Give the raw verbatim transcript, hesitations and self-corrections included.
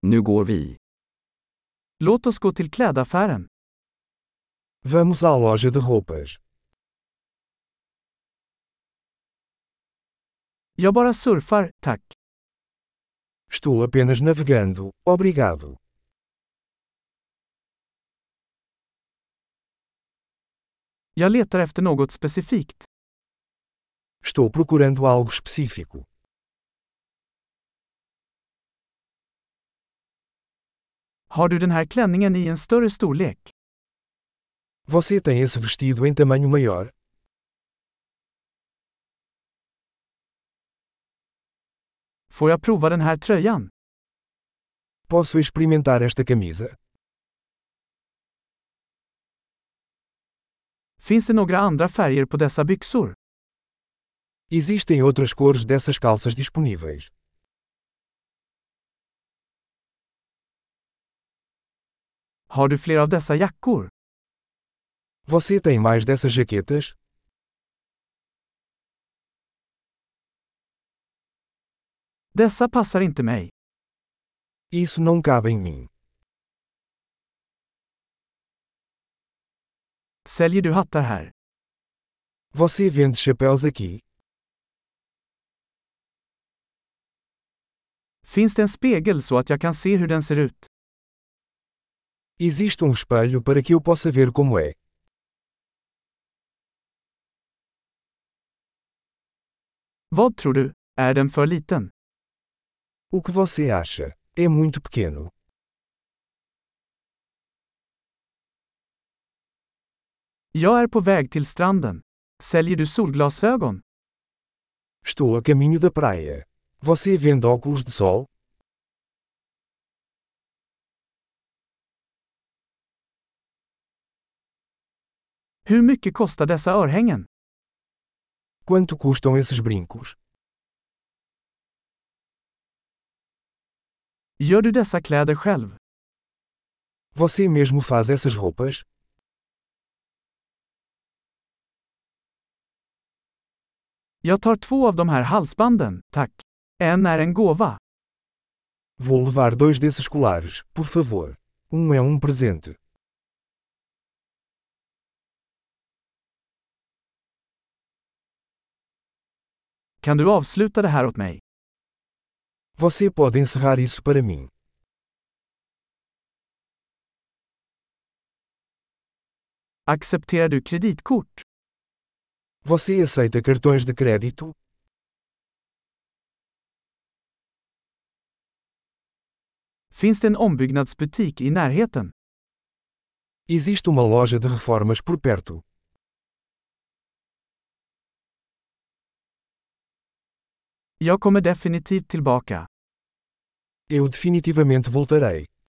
Nu går vi. Låt oss gå till klädaffären. Vamos à loja de roupas. Jag bara surfar, tack. Estou apenas navegando, obrigado. Jag letar efter något specifikt. Estou procurando algo específico. Har du den här klänningen i en större storlek? Você tem esse vestido em tamanho maior? Får jag prova den här tröjan? Posso experimentar esta camisa? Finns det några andra färger på dessa byxor? Existem outras cores dessas calças disponíveis. Har du fler av dessa jackor? Você tem mais dessas jaquetas? Dessa passar inte mig. Isso não cabe em mim. Säljer du hattar här? Você vende chapéus aqui? Finns det en spegel så att jag kan se hur den ser ut? Existe um espelho para que eu possa ver como é. Vad tror du? Är den för liten? O que você acha? É muito pequeno. Jag är på väg till stranden. Säljer du solglasögon? Estou a caminho da praia. Você vende óculos de sol? Hur mycket kostar dessa örhängen? Quanto custam esses brincos? Gör du dessa kläder själv? Você mesmo faz essas roupas? Jag tar två av de här halsbanden, tack. En är en gåva. Vou levar dois desses colares, por favor. Um é um presente. Kan du avsluta det här åt mig? Você pode encerrar isso para mim. Accepterar du kreditkort? Você aceita cartões de crédito? Finns det en ombyggnadsbutik i närheten? Existe uma loja de reformas por perto. Jag kommer definitivt tillbaka. Eu definitivamente voltarei.